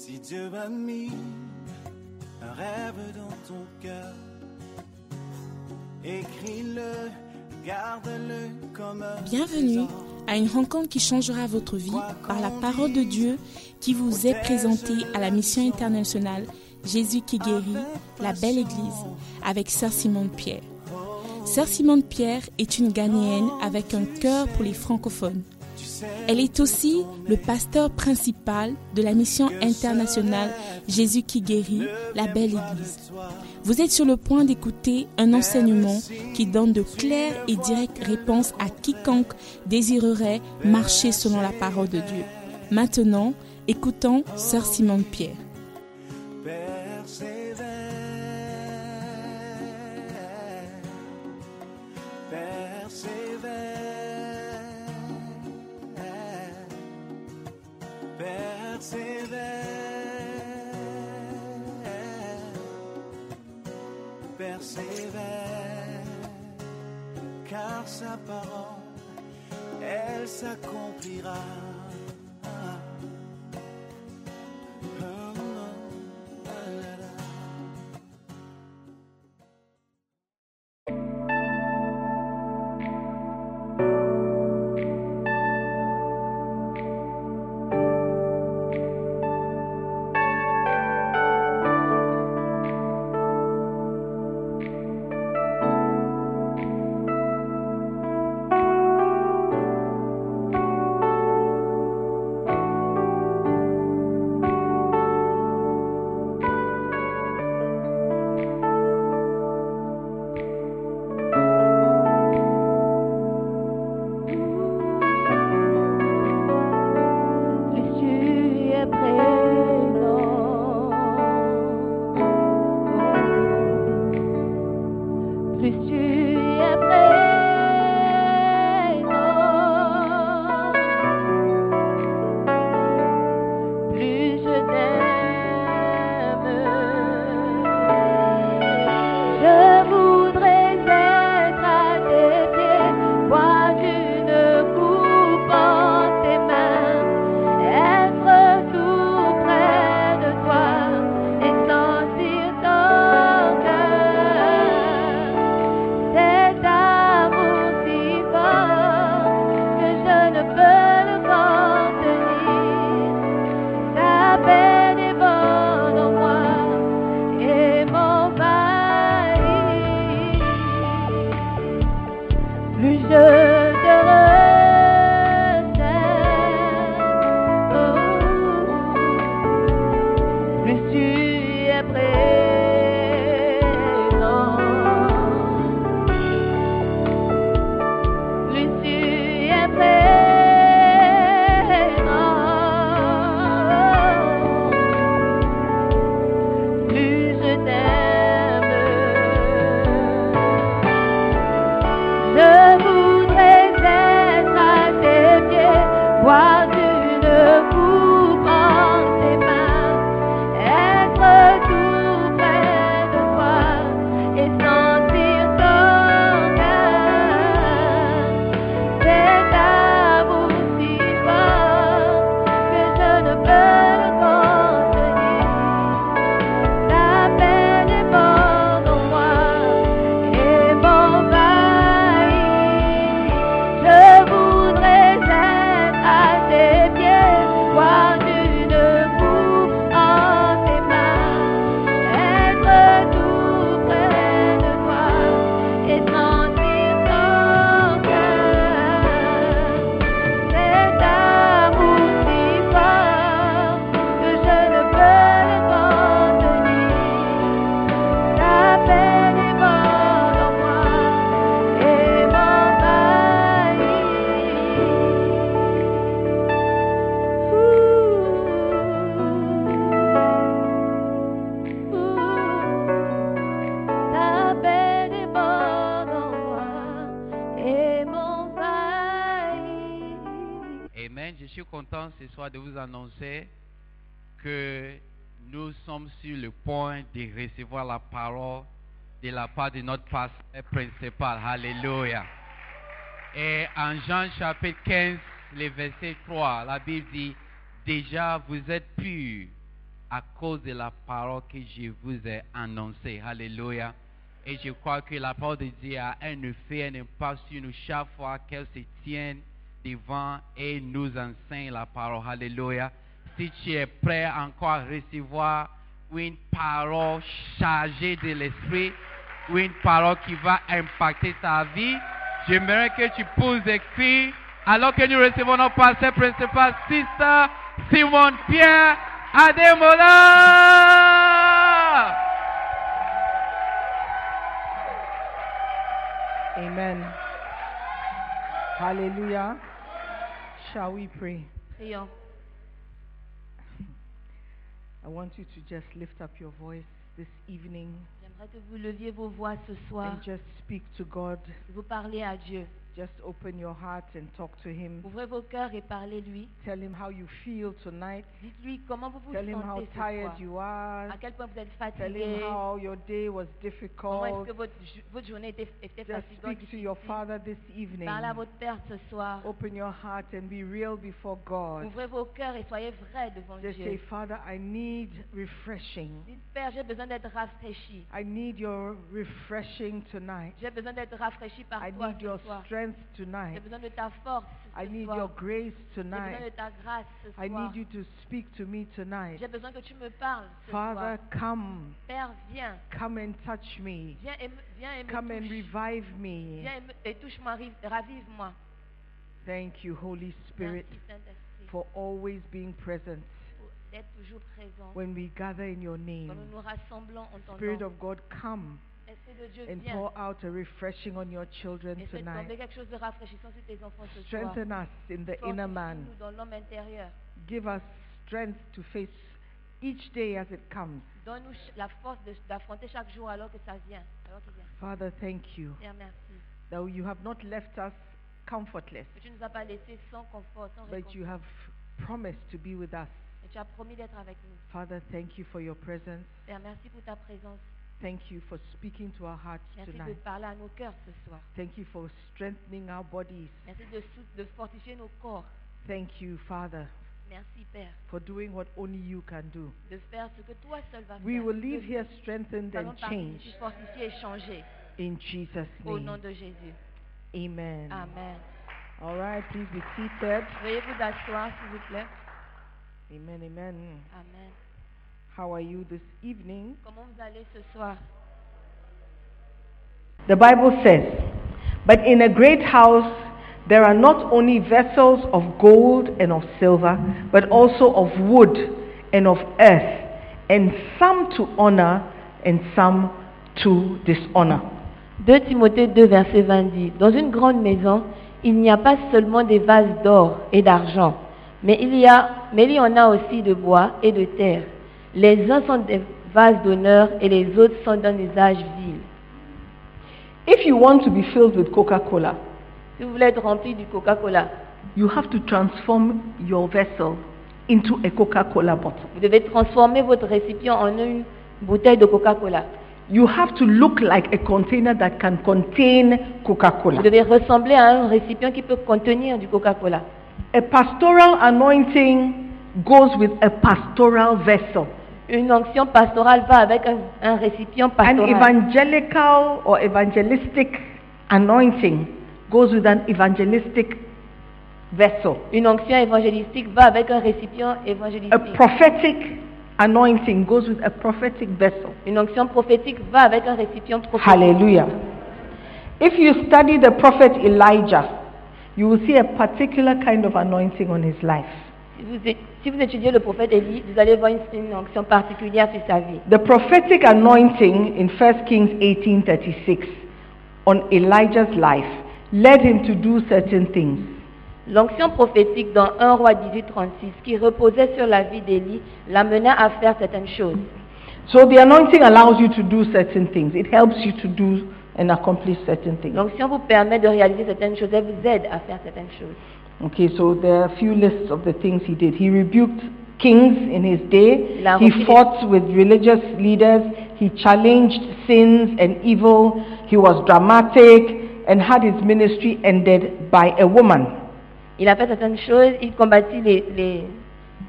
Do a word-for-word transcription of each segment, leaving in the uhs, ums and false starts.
Si Dieu a mis un rêve dans ton cœur, écris-le, garde-le comme un Bienvenue à une rencontre qui changera votre vie par la parole de Dieu qui vous est présentée à la mission internationale Jésus qui guérit, la belle église, avec Sœur Simone Pierre. Sœur Simone Pierre est une Ghanéenne avec un cœur pour les francophones. Elle est aussi le pasteur principal de la mission internationale Jésus qui guérit, la belle église. Vous êtes sur le point d'écouter un enseignement qui donne de claires et directes réponses à quiconque désirerait marcher selon la parole de Dieu. Maintenant, écoutons Sœur Simone Pierre. Persévère, car sa parole, elle s'accomplira. Ce soir de vous annoncer que nous sommes sur le point de recevoir la parole de la part de notre pasteur principal. Alléluia. Et en Jean chapitre quinze, le verset trois, la Bible dit: déjà vous êtes purs à cause de la parole que je vous ai annoncée. Alléluia. Et je crois que la parole de Dieu a un effet, un impact sur nous chaque fois qu'elle se tient devant et nous enseigne la parole. Alléluia. Si tu es prêt encore à recevoir une parole chargée de l'esprit, ou une parole qui va impacter ta vie, j'aimerais que tu poses des cris alors que nous recevons notre pasteur principal, Sister Simone Pierre Ademola. Amen. Hallelujah. Shall we pray? Prions. I want you to just lift up your voice this evening J'aimerais que vous leviez vos voix ce soir, and just speak to God. vous parlez à Dieu. Just open your heart and talk to Him. Ouvrez vos cœurs et parlez-lui. Tell Him how you feel tonight. Dites-lui comment vous vous Tell Him how sentez ce tired soir. you are. À quel point vous êtes Tell Him fatigué. how your day was Comment est-ce difficult. que votre, jo- votre journée était, était Just fatigante. speak to your difficile. Father this evening. Parlez à votre Père ce soir. Open your heart and be real before God. Ouvrez vos cœurs et soyez vrais devant Just say, Dieu. Father, I need refreshing. Dites, Père, j'ai besoin d'être rafraîchi. I need your refreshing tonight. J'ai besoin d'être rafraîchi par I toi need ce your soir. strength J'ai tonight. besoin de ta force I ce need soir. your grace J'ai besoin de tonight. ta grâce ce I soir. need you to speak to me tonight. J'ai besoin que tu me parles ce Father, soir. come. Père, viens. Come and touch me. Viens et me, viens et me Come and touche. revive me. Viens et, me- et touche-moi, rive- ravive-moi. Thank you, Holy Spirit, Merci Saint-Esprit for always being present pour d'être toujours présent. when we gather in your Quand name. nous nous rassemblons en ton Spirit nom. of God, come Esprit de Dieu, and viens. pour out a refreshing on your children Et fais tomber tonight. quelque chose de rafraîchissant sur tes enfants ce soir. Strengthen us in the inner man. Fortifie-nous dans l'homme intérieur. Give us strength to face each day as it comes. Donne-nous ch- la force de- d'affronter chaque jour alors que ça vient. Alors qu'il vient. Father, thank you Père, merci. that you have not left us comfortless, Que tu ne nous as pas laissés sans confort, sans but you réconfort. have promised to be with us. Et tu as promis d'être avec nous. Father, thank you for your presence. Père, merci pour ta présence. Thank you for speaking to our hearts Merci de tonight. parler à nos cœurs ce soir. Thank you for strengthening our bodies. Merci de, sou- de fortifier nos corps. Thank you, Father, Merci, Père, for doing what only you can do. de faire ce que toi seul vas We faire. will leave Que here strengthened nous allons and partir changed d'ici fortifiés et changés. in Jesus' Au nom name. de Jésus. Amen. Amen. All right, please be seated. Veuillez vous asseoir, s'il vous plaît. Amen, amen. Amen. How are you this evening? Comment vous allez ce soir? The Bible says, "But in a great house there are not only vessels of gold and of silver, but also of wood and of earth, and some to honor and some to dishonor." deux Timothée deux, verset vingt dit, dans une grande maison, il n'y a pas seulement des vases d'or et d'argent, mais il y a, mais il y en a aussi de bois et de terre. Les uns sont des vases d'honneur et les autres sont d'un usage vil. If you want to be filled with Coca-Cola, Si vous voulez être rempli du Coca-Cola, you have to transform your vessel into a Coca-Cola bottle. vous devez transformer votre récipient en une bouteille de Coca-Cola. You have to look like a container that can contain Coca-Cola. Vous devez ressembler à un récipient qui peut contenir du Coca-Cola. A pastoral anointing goes with a pastoral vessel. Une onction pastorale va avec un, un récipient An pastoral. evangelical or evangelistic anointing goes with an evangelistic vessel. Une onction évangélistique va avec un récipient A évangélistique. prophetic anointing goes with a prophetic vessel. Une onction prophétique va avec un récipient prophétique. Hallelujah. If you study the prophet Elijah, you will see a particular kind of anointing on his life. Si vous, é- si vous étudiez le prophète Élie, vous allez voir une, une onction particulière sur sa vie. The prophetic anointing in First Kings eighteen thirty-six on Elijah's life led him to do certain things. L'onction prophétique dans un roi dix-huit trente-six, qui reposait sur la vie d'Élie, l'amena à faire certaines choses. So the anointing allows you to do certain things. It helps you to do and accomplish certain things. L'onction vous permet de réaliser certaines choses, elle vous aide à faire certaines choses. Okay, so there are a few lists of the things he did. He rebuked kings in his day. Il a He refusé- fought with religious leaders. He challenged sins and evil. He was dramatic and had his ministry ended by a woman. Il a fait certaines choses, il combattit les, les,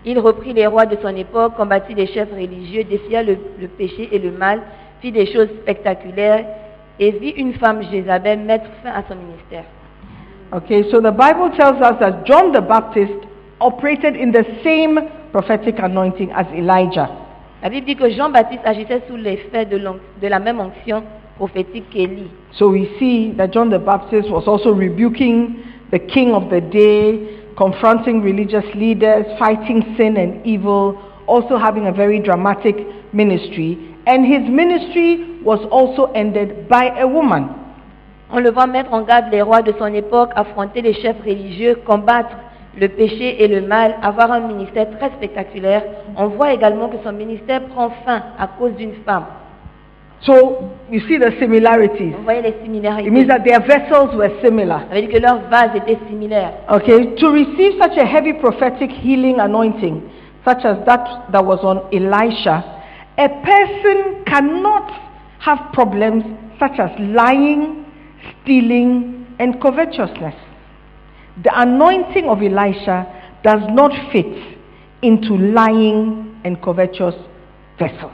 Il reprit les rois de son époque, combattit les chefs religieux, défia le, le péché et le mal, fit des choses spectaculaires et vit une femme Jézabel mettre fin à son ministère. Okay, so the Bible tells us that John the Baptist operated in the same prophetic anointing as Elijah. La Bible dit que Jean-Baptiste agissait sous l'effet de, de la même onction prophétique qu'Élie. So we see that John the Baptist was also rebuking the king of the day, confronting religious leaders, fighting sin and evil, also having a very dramatic ministry. And his ministry was also ended by a woman. On le voit mettre en garde les rois de son époque, affronter les chefs religieux, combattre le péché et le mal, avoir un ministère très spectaculaire. On voit également que son ministère prend fin à cause d'une femme. So you see the similarities. Vous voyez les similarités. It means that their vessels were similar. Ça veut dire que leurs vases étaient similaires. Okay, to receive such a heavy prophetic healing anointing, such as that that was on Elisha, a person cannot have problems such as lying, stealing, and covetousness. The anointing of Elisha does not fit into lying and covetous vessels.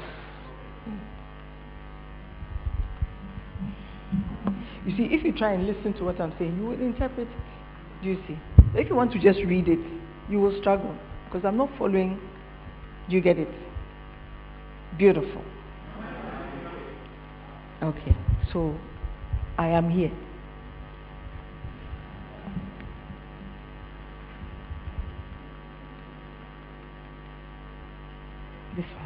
You see, if you try and listen to what I'm saying, you will interpret. Do you see? If you want to just read it, you will struggle because I'm not following. Do you get it? Beautiful. Okay, so I am here. This one.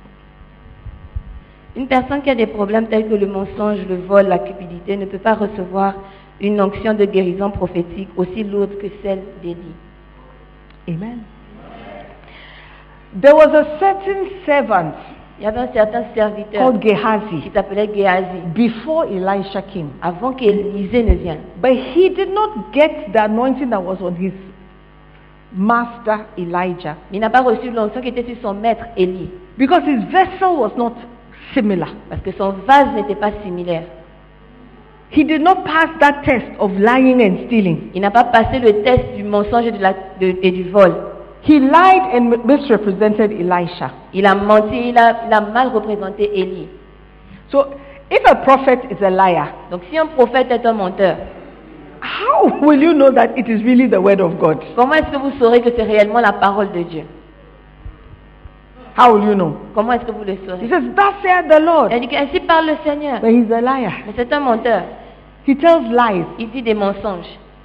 Une personne qui a des problèmes tels que le mensonge, le vol, la cupidité ne peut pas recevoir une onction de guérison prophétique aussi lourde que celle d'Élie. Amen. There was a certain servant Il y avait un certain serviteur called qui Gehazi s'appelait Géasi before Elisha came. avant qu'Élisée ne vienne. But he did not get the anointing that was on his master Elijah Mais il n'a pas reçu l'onction qui était sur son maître Élie because his vessel was not similar. parce que son vase n'était pas similaire. He did not pass that test of lying and stealing. Il n'a pas passé le test du mensonge et, de la, de, et du vol. He lied and misrepresented Elisha. Il a menti, il a, il a mal représenté Élie. So, if a prophet is a liar, Donc si un prophète est un menteur, how will you know that it is really the word of God? comment est-ce que vous saurez que c'est réellement la parole de Dieu? How will you know? Comment est-ce que vous le He saurez? says, thus saith the Lord. Il dit que ainsi parle le Seigneur. But he's a liar. Mais c'est un menteur. He tells lies. Il dit des mensonges.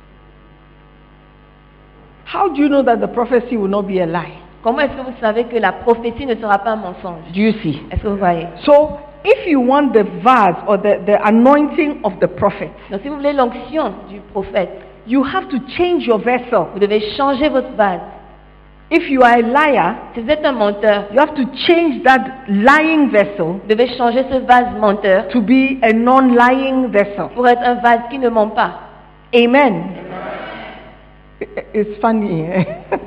How do you know that the prophecy will not be a lie? Comment est-ce que vous savez que la prophétie ne sera pas un mensonge? Do you see? Est-ce que vous voyez? So, if you want the vase or the, the anointing of the prophet, Donc si vous voulez l'onction du prophète, you have to change your vessel. vous devez changer votre vase. If you are a liar, Si vous êtes un menteur, you have to change that lying vessel vous devez changer ce vase menteur to be a non-lying vessel. pour être un vase qui ne ment pas. Amen. It's funny. eh?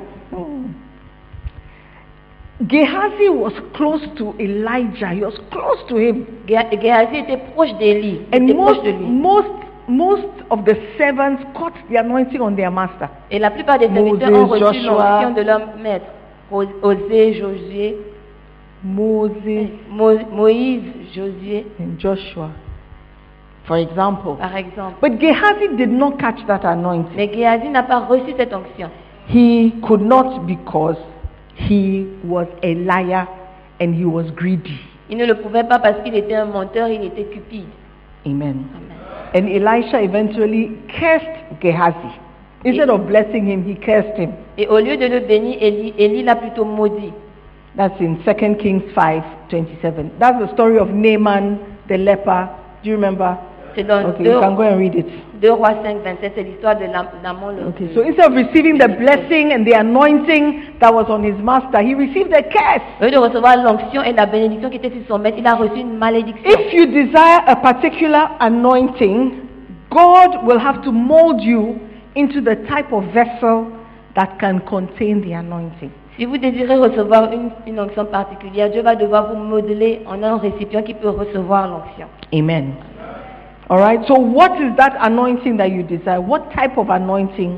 Gehazi was close to Elijah. He was close to him. Gé- Géasi était proche d'Élie. Il And était most, proche de lui. most, most of the servants caught the anointing on their master. Et la plupart des serviteurs Moses, ont reçu Joshua. l'onction de leur maître. Os- Osée, Josué, Moses Mo- Moïse, Josué, and Joshua, for example. par exemple. But Gehazi did not catch that anointing. Mais Géasi n'a pas reçu cette onction. He could not because he was a liar and he was greedy. Il ne le pouvait pas parce qu'il était un menteur, il était cupide. Amen. Amen. And Elisha eventually cursed Gehazi. Instead of blessing him, he cursed him. Et au lieu de le bénir, Élie, Élie l'a plutôt maudit. That's in Second Kings five twenty-seven. That's the story of Naaman the leper. Do you remember? C'est dans Okay, you can go and read it. deux Rois cinq, vingt-sept, c'est l'histoire de Nam- Naaman le Okay, so instead of receiving the blessing and the anointing that was on his master, he received a curse. Au lieu de recevoir l'onction et la bénédiction qui était sur son maître, il a reçu une malédiction. If you desire a particular anointing, God will have to mold you into the type of vessel that can contain the anointing. Si vous désirez recevoir une, une onction particulière, Dieu va devoir vous modeler en un récipient qui peut recevoir l'onction. Amen. All right, so what is that anointing that you desire? What type of anointing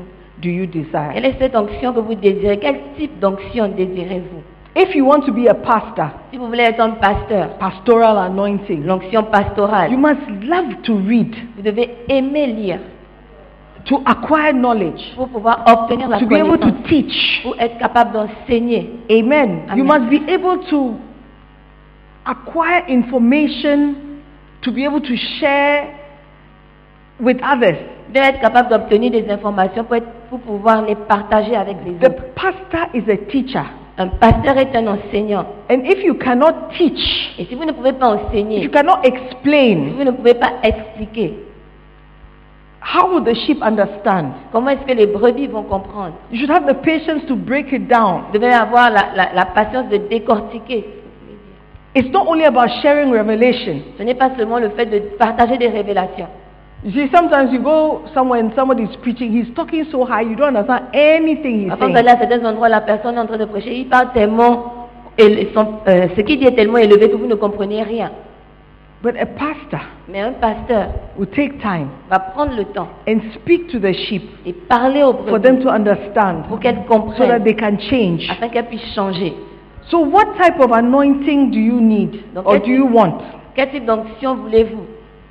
do you desire? Quelle est cette onction que vous désirez? Quel type d'onction désirez-vous? If you want to be a pastor, Si vous voulez être un pasteur, pastoral anointing, l'onction pastorale, you must love to read, vous devez aimer lire to acquire knowledge, pour pouvoir obtenir la to be able to connaissance, teach. pour être capable d'enseigner. Amen. You Amen. must be able to acquire information, to be able to share with others. Vous devez être capable d'obtenir des informations pour, être- pour pouvoir les partager avec les The autres. pastor is a teacher. Un pasteur est un enseignant. And if you cannot teach, Et si vous ne pouvez pas if enseigner, you cannot si explain, vous ne pouvez pas expliquer, how will the sheep understand? comment est-ce que les brebis vont comprendre? You should have the patience to break it down. Vous devez avoir la, la- la patience de décortiquer. It's not only about sharing revelation. Ce n'est pas seulement le fait de partager des révélations. You see, sometimes you go somewhere and somebody is preaching, he's talking so high, you don't understand anything he's Avant saying. d'aller à certains endroits, la personne est en train de prêcher, il parle tellement, éle- son- euh, ce qu'il dit est tellement élevé que vous ne comprenez rien. But a pastor Mais un pasteur will take time va prendre le temps and speak to the sheep et parler aux for them brebis to understand pour qu'elles so that comprennent, they can change. afin qu'elles puissent changer. So what type of anointing do you need Donc, or quel do you type- want? Quel type d'onction voulez-vous?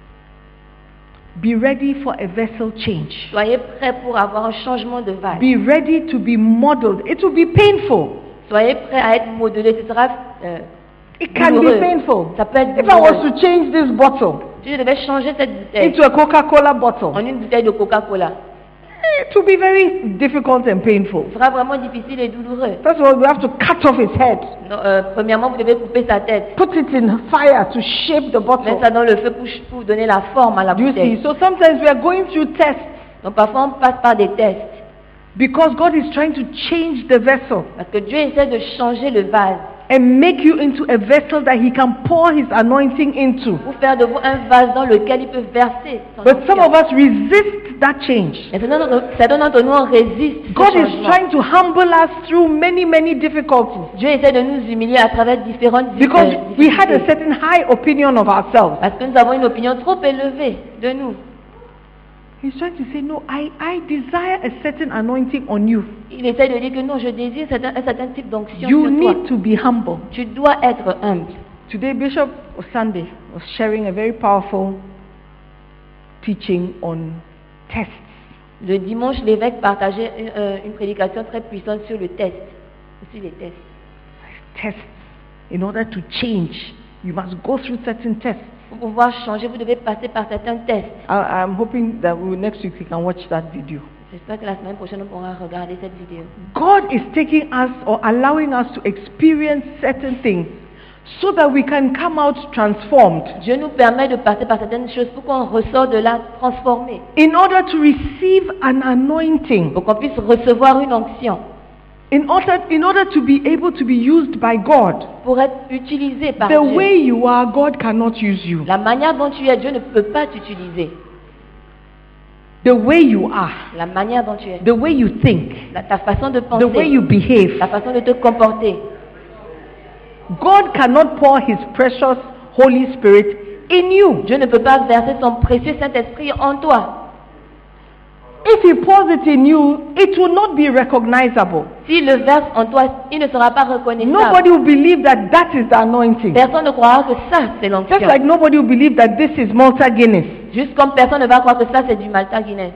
Be ready for a vessel change. Soyez prêts pour avoir un changement de vase. Be ready to be modeled. It will be painful. Soyez prêts à être modelés. Ce sera euh, It can douloureux. be painful. Ça peut être If I was douloureux. to change this bottle Si je devais changer cette bouteille into a Coca-Cola bottle, en une bouteille de Coca-Cola, it will be very difficult and painful. ce sera vraiment difficile et douloureux. First of all, we have to cut off his head, Non, euh, premièrement, vous devez couper sa tête, put it in fire to shape the bottle. mettre ça dans le feu pour, pour donner la forme à la Do you see? bouteille. So sometimes we are going through tests Donc parfois, on passe par des tests. because God is trying to change the vessel Parce que Dieu essaie de changer le vase and make you into a vessel that He can pour His anointing into. pour faire de vous un vase dans lequel il peut verser son But some onction. of us resist that change. Mais certains d'entre- certains d'entre nous, on résiste ce God is changement. trying to humble us through many, many difficulties Dieu essaie de nous humilier à travers différentes because euh, we had a difficultés. certain high opinion of ourselves. Parce que nous avons une opinion trop élevée de nous. He's trying to say, no, I, I desire a certain anointing on you. Il essaie de dire que non, je désire certain- un certain type d'onction You sur toi. need to be humble. Tu dois être humble. Today, Bishop Sunday was sharing a very powerful teaching on tests. Le dimanche, l'évêque partageait une, euh, une prédication très puissante sur le test. Sur les tests. Tests. In order to change, you must go through certain tests. Pour pouvoir changer, vous devez passer par certains tests. I, I'm hoping that we, next week we can watch that video. J'espère que la semaine prochaine, on pourra regarder cette vidéo. God is taking us or allowing us to experience certain things so that we can come out transformed Dieu nous permet de passer par certaines choses pour qu'on ressort de là transformé. in order to receive an anointing, Pour qu'on puisse recevoir une onction. in order, in order to be able to be used by God. Pour être utilisé par The Dieu. way you are, God cannot use you. La manière dont tu es, Dieu ne peut pas t'utiliser. The way you are, La manière dont tu es. the way you think, La- ta façon de the way penser. you behave. La façon de te comporter. God cannot pour His precious Holy Spirit in you. Dieu ne peut pas verser son précieux Saint-Esprit en toi. If He pours it in you, it will not be recognizable. S'il le verse en toi, il ne sera pas reconnaissable. Nobody will believe that that is the anointing. Personne ne croira que ça, c'est Just l'onction. like nobody will believe that this is Malta Guinness. Juste comme personne ne va croire que ça, c'est du Malta Guinness.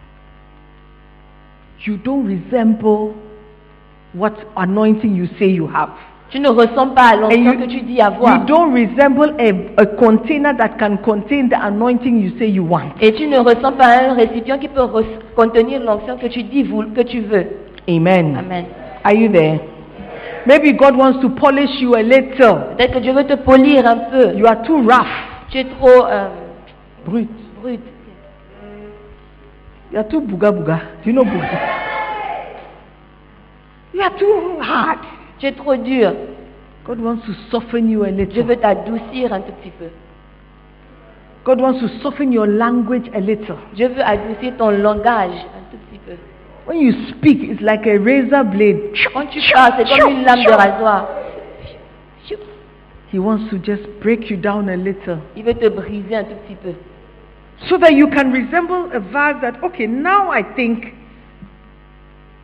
You don't resemble what anointing you say you have. Tu ne ressembles pas à And l'onction you, que tu dis avoir. you don't resemble a, a container that can contain the anointing you say you want. Et tu ne ressembles pas à un récipient qui peut re- contenir l'onction que tu dis, vou- que tu veux. Amen. Amen. Are you there? Maybe God wants to polish you a little. Peut-être que Dieu veut te polir un peu. You are too rough. Tu es trop euh, Brut. brut. You are too booga booga. Do you know booga? You are too hard. Tu es trop dur. God wants to soften you a Dieu little. veut t'adoucir un tout petit peu. God wants to soften your language a little. Dieu veut adoucir ton langage un tout petit peu. When you speak, it's like a razor blade. Quand tu parles, c'est comme une lame de rasoir. He wants to just break you down a little Il veut te briser un tout petit peu. so that you can resemble a vase that, okay, now I think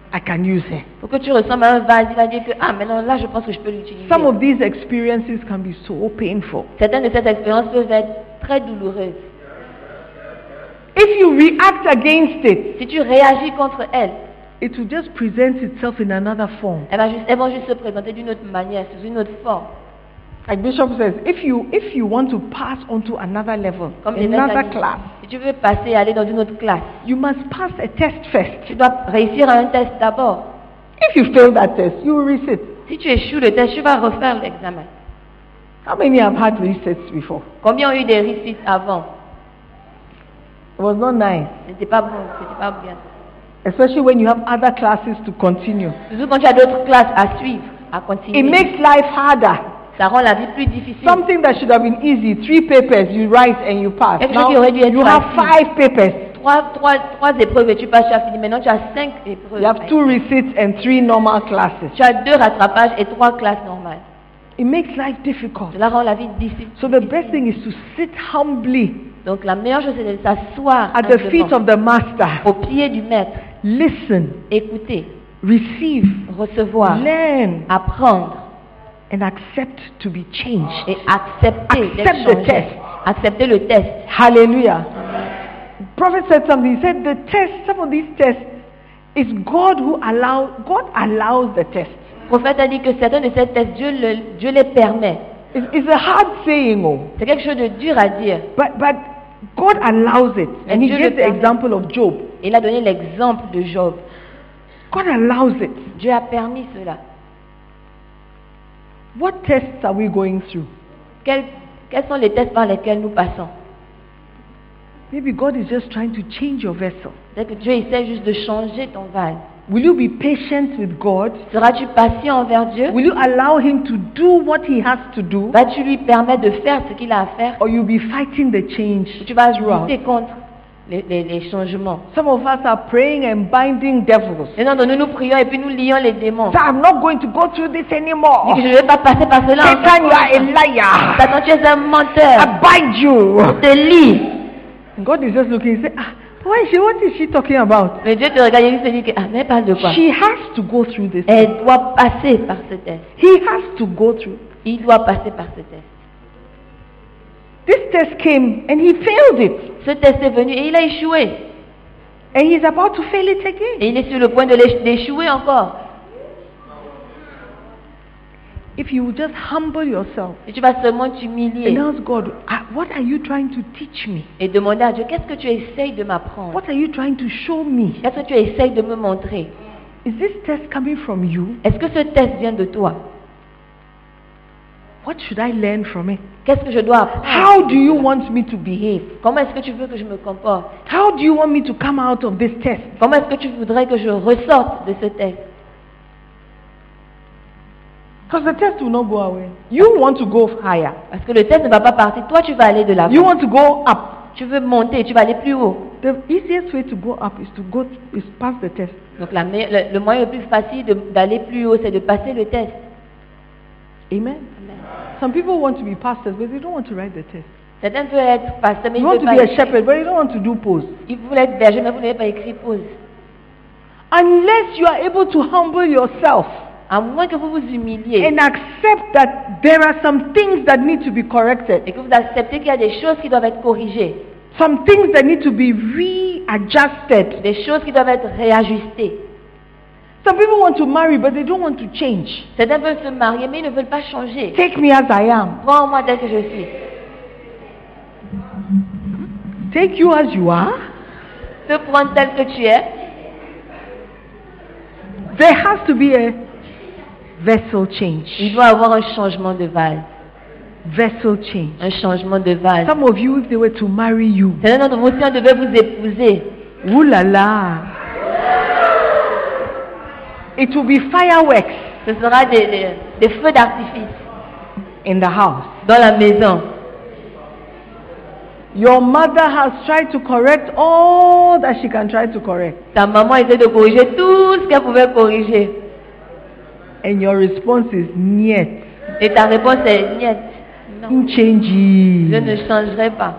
I can use him. Pour que tu ressembles à un vase, il va dire que ah maintenant là je pense que je peux l'utiliser. Some of these experiences can be so painful. Certaines de ces expériences peuvent être très douloureuses. If you react against it, Si tu réagis contre elles, it will just present itself in another form. elles, va juste, elles vont juste se présenter d'une autre manière, sous une autre forme. Like Bishop says, if you if you want to pass on to another level, Comme les mecs another disent, class, si tu veux passer et aller dans une autre classe, you must pass a test first. tu dois réussir à un test d'abord. If you fail that test, you will resit. Si tu échoues le test, tu vas refaire l'examen. How many have had resets before? Combien ont eu des réussites avant? It was not nice, C'était pas bon, c'était pas bien. especially when you have other classes to continue. Surtout quand tu as d'autres classes à suivre, à continuer. It makes life harder. Ça rend la vie plus difficile. Something that should have been easy, three papers, you write and you pass. Quelque chose Now qui aurait dû être you have facile. five papers. Trois, trois, trois épreuves et tu passes, tu as fini. Maintenant tu as cinq épreuves. You have two receipts and three normal classes. Tu as deux rattrapages et trois classes normales. It makes life difficult. Cela rend la vie difficile. So the best thing is to sit humbly Donc la meilleure chose c'est de s'asseoir at the feet humblement of the master. au pied du maître, Listen, écouter, receive, recevoir, learn, apprendre and accept to be changed. et accepter d'être Accept the changé. test. Accepter le test. Hallelujah. Prophet said something. He said the test, some of these tests, is God who allows, God allows the test. Le prophète a dit que certains de ces tests, Dieu, le, Dieu les permet. It's, it's a hard saying, oh, C'est quelque chose de dur à dire. but, but God allows it. And he Dieu gave le the permet. example of Job. Il a donné l'exemple de Job. God allows it. Dieu a permis cela. What tests are we going through? Quels, quels sont les tests par lesquels nous passons? Maybe God is just trying to change your vessel. C'est que Dieu essaie juste de changer ton vase. Will you be patient with God? Seras-tu patient envers Dieu? Will you allow him to do what he has to do? Vas-tu lui permettre de faire ce qu'il a à faire? Or you'll be fighting the change Ou tu vas throughout? lutter contre les, les, les changements? Some of us are praying and binding devils. Maintenant, nous nous prions et puis nous lions les démons. So I'm not going to go through this Dis anymore. que je ne vais pas passer par cela. Satan, you are a liar. Satan, tu es un menteur. I bind you. Te lie. And God is just looking and say, ah, why is she, what is she talking about? Mais Dieu te regarde et il se dit que, ah, mais elle parle de quoi? She has to go through this. Elle doit passer par ce test. He has to go through. Il doit passer par ce test. This test came and he failed it. Ce test est venu et il a échoué. And he's about to fail it again. Et il est sur le point de l'éch- d'échouer encore. If you just humble yourself Et tu vas seulement and t'humilier ask God, ah, what are you trying to teach me? et demander à Dieu, qu'est-ce que tu essayes de m'apprendre? What are you trying to show me? Qu'est-ce que tu essayes de me montrer? Is this test coming from you? Est-ce que ce test vient de toi? What should I learn from it? Qu'est-ce que je dois apprendre? How do you want me to behave? Comment est-ce que tu veux que je me comporte? How do you want me to come out of this test? Comment est-ce que tu voudrais que je ressorte de ce test? Because the test will not go away. You want to go higher. Parce que le test ne va pas partir. Toi, tu vas aller de l'avant. You want to go up. Tu veux monter, tu vas aller plus haut. The easiest way to go up is to go is pass the test. Donc la me- le, le moyen le plus facile de- d'aller plus haut, c'est de passer le test. Amen. Amen. Some people want to be pastors, but they don't want to write the test. Certains veulent être pasteurs, mais ils You ne want veulent to be pas a écrire. shepherd, but you don't want to do pose. Ils voulaient être bergers, mais vous n'avez pas écrit pause. Unless you are able to humble yourself À moins que vous vous humiliez and accept that there are some things that need to be corrected, et que vous acceptez qu'il y a des choses qui doivent être corrigées, some things that need to be readjusted. des choses qui doivent être réajustées. Some people want to marry, but they don't want to change. Certains veulent se marier, mais ils ne veulent pas changer. Take me as I am. Prends-moi tel que je suis. Take you as you are. Te prendre tel que tu es. There has to be a vessel change. Il doit y avoir un changement de vase. Vessel change. Un changement de vase. Some of you, if they were to marry you, Certains d'entre vous, si on devait vous épouser, ooh la la, it will be fireworks ce sera des, des, des feux d'artifice in the house. dans la maison. Your mother has tried to correct all that she can try to correct. Ta maman essaie de corriger tout ce qu'elle pouvait corriger. And your response is niet. Et ta réponse est niet. Non, Change. je ne changerai pas.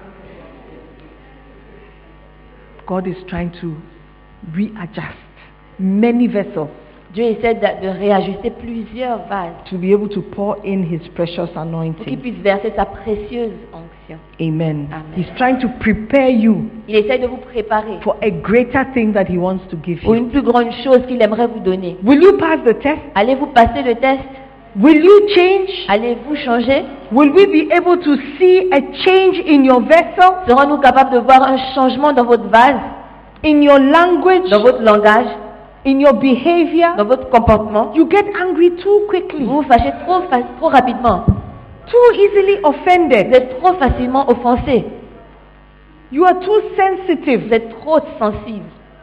God is trying to readjust. many vessels Dieu essaie de, de réajuster plusieurs vases to be able to pour in his precious pour qu'il anointing. puisse verser sa précieuse onction. Amen. Amen. He's trying to prepare you Il essaie de vous préparer for a greater thing that he wants to give pour you. une plus grande chose qu'il aimerait vous donner. Will you pass the test? Allez-vous passer le test? Will you change? Allez-vous changer? Will we be able to see a change in your vessel, Serons-nous capables de voir un changement dans votre vase, in your language, dans votre langage, in your behavior? dans votre comportement? You get angry too quickly, Vous vous fâchez trop, fa- trop rapidement. too easily Vous offended. êtes trop facilement offensé. You are too Vous sensitive. êtes trop sensible.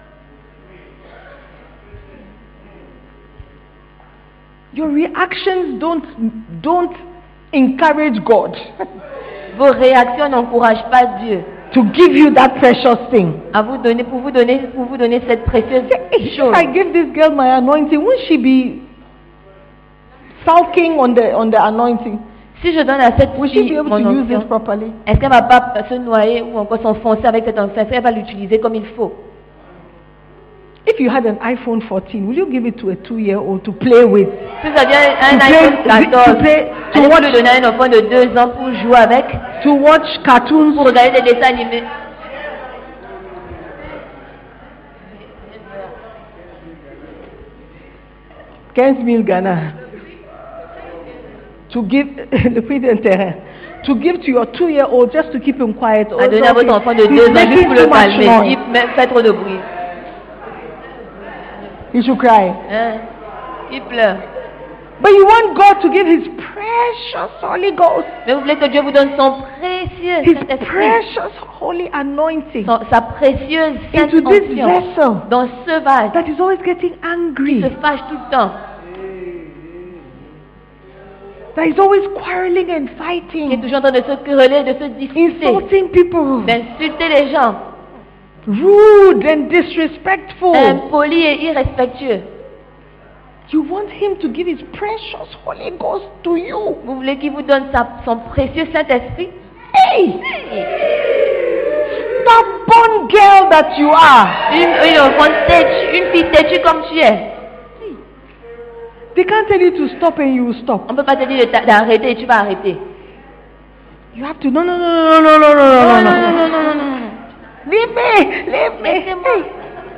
Your reactions don't don't encourage God Vos réactions n'encouragent pas Dieu to give you that precious thing. à vous donner, pour vous donner, pour vous donner cette précieuse If chose. I give this girl my anointing, won't she be sulking on the on the anointing? Si je donne à cette Will she be fille able mon to use this onction, properly? est-ce qu'elle va pas se noyer ou encore s'enfoncer avec cette onction? Est-ce qu'elle va l'utiliser comme il faut? If you had an iPhone fourteen, will you give it to a two-year-old to play with? Si vous aviez un To iPhone play- to quatorze, play- to allez-vous watch- le donner à un enfant de deux ans pour jouer avec, To watch cartoons? pour regarder des dessins animés? quinze mille Ghana. To give le prix d'un terrain. To give to your two-year-old just to keep him quiet. À donner à votre enfant de He's deux ans making juste pour too le much calmer. noise. Il même fait trop de bruit. He should cry. Hein? Il pleure. But you want God to give His precious Holy Ghost, Mais vous voulez que Dieu vous donne son précieux His Saint-Esprit, precious Holy anointing son- sa précieuse sainte into this onction vessel dans ce vase that is always getting qui angry, se fâche tout le temps, that is always quarreling and qui est fighting, toujours en train de se quereller, de se disputer, insulting people, d'insulter les gens, rude and disrespectful. impoli et irrespectueux. You want Him to give His precious Holy Ghost to you. Vous voulez qu'il vous donne sa- son précieux Saint-Esprit? Hey! Stubborn girl that you are. Une, une enfant têtue, une fille têtue comme tu es. They can't tell you to stop and you will stop. On ne peut pas te dire de t'a- d'arrêter et tu vas arrêter. You have to, no, no, no, no, no, no, no, no, Non, no, non, non, no. non, non, non, non, non. Leave me, leave me. Laissez-moi. Hey.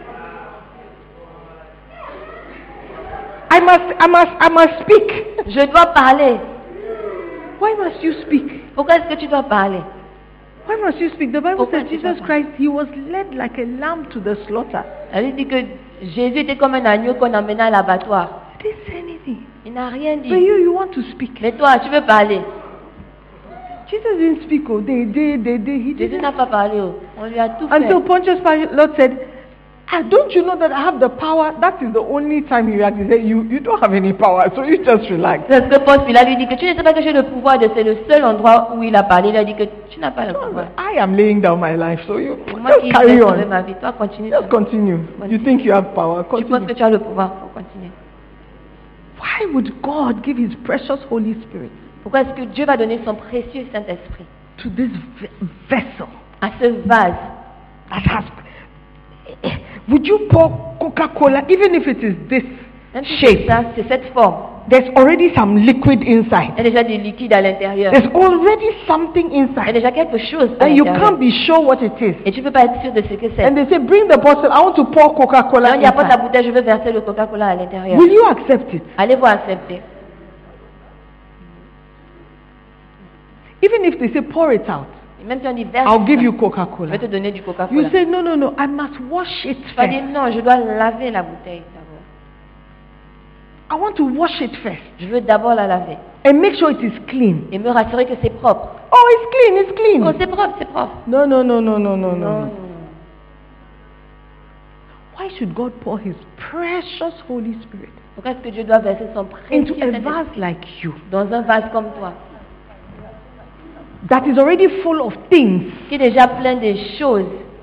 I must, I must, I must speak. Je dois parler. Why must you speak? Pourquoi est-ce que tu dois parler? Why must you speak? The Bible Pourquoi says tu dois Jesus parler? Christ, He was led like a lamb to the slaughter. Elle dit que Jésus était comme un agneau qu'on emmenait à l'abattoir. He didn't say anything. Il n'a rien But dit. you, you want to speak. Mais toi, tu veux parler. Jesus didn't speak. Oh, they, they, they, they. He Jésus didn't. n'a pas parlé. Oh. On lui a tout fait. Until Pontius Pilate said, ah, don't you know that I have the power? That is the only time he reacted. He said, you, you don't have any power, so you just relax. Parce que Paul Pilate lui dit que tu ne sais pas que j'ai le pouvoir de... C'est le seul endroit où il a parlé. Il a dit que tu n'as pas le pouvoir. I am laying down my life, so you Moi just qui carry vais sauver on. ma vie. Toi, continue. Just continue. You think you have power? Tu penses que Continue. tu as le pouvoir pour continuer. Why would God give His precious Holy Spirit Pourquoi est-ce que Dieu va donner son précieux Saint-Esprit to this ve- vessel à ce vase? that has? Would you pour Coca-Cola, even if it is this Même si c'est shape? ça, c'est cette forme. There's already some liquid inside. Il y a déjà du liquide à l'intérieur. There's already something Il y a inside, déjà quelque chose à and you l'intérieur. can't be sure what it is. Et tu ne peux pas être sûr de ce que c'est. And they say, bring the bottle. I want to pour Coca-Cola Quand il apporte la inside. bouteille, je veux verser le Coca-Cola à l'intérieur. Will you accept it? Allez-vous accepter? Even if they say pour it out, Et même si on dit verse, I'll give you je Coca-Cola. vais te donner du You Coca-Cola. say, no, no, no, I must wash it Tu vas dire first. non, je dois laver la bouteille d'abord. I want to wash it first Je veux d'abord la laver and make sure it is clean. et me rassurer que c'est propre. Oh, it's clean, it's clean. Oh, c'est propre, c'est propre. No, no, no, no, no, no, Non, no. non. Why should God pour His precious Holy Spirit Pourquoi est-ce que Dieu doit verser son into précieux a Saint-Esprit vase like you dans un vase comme toi, that is already full of things? qui est déjà plein de choses?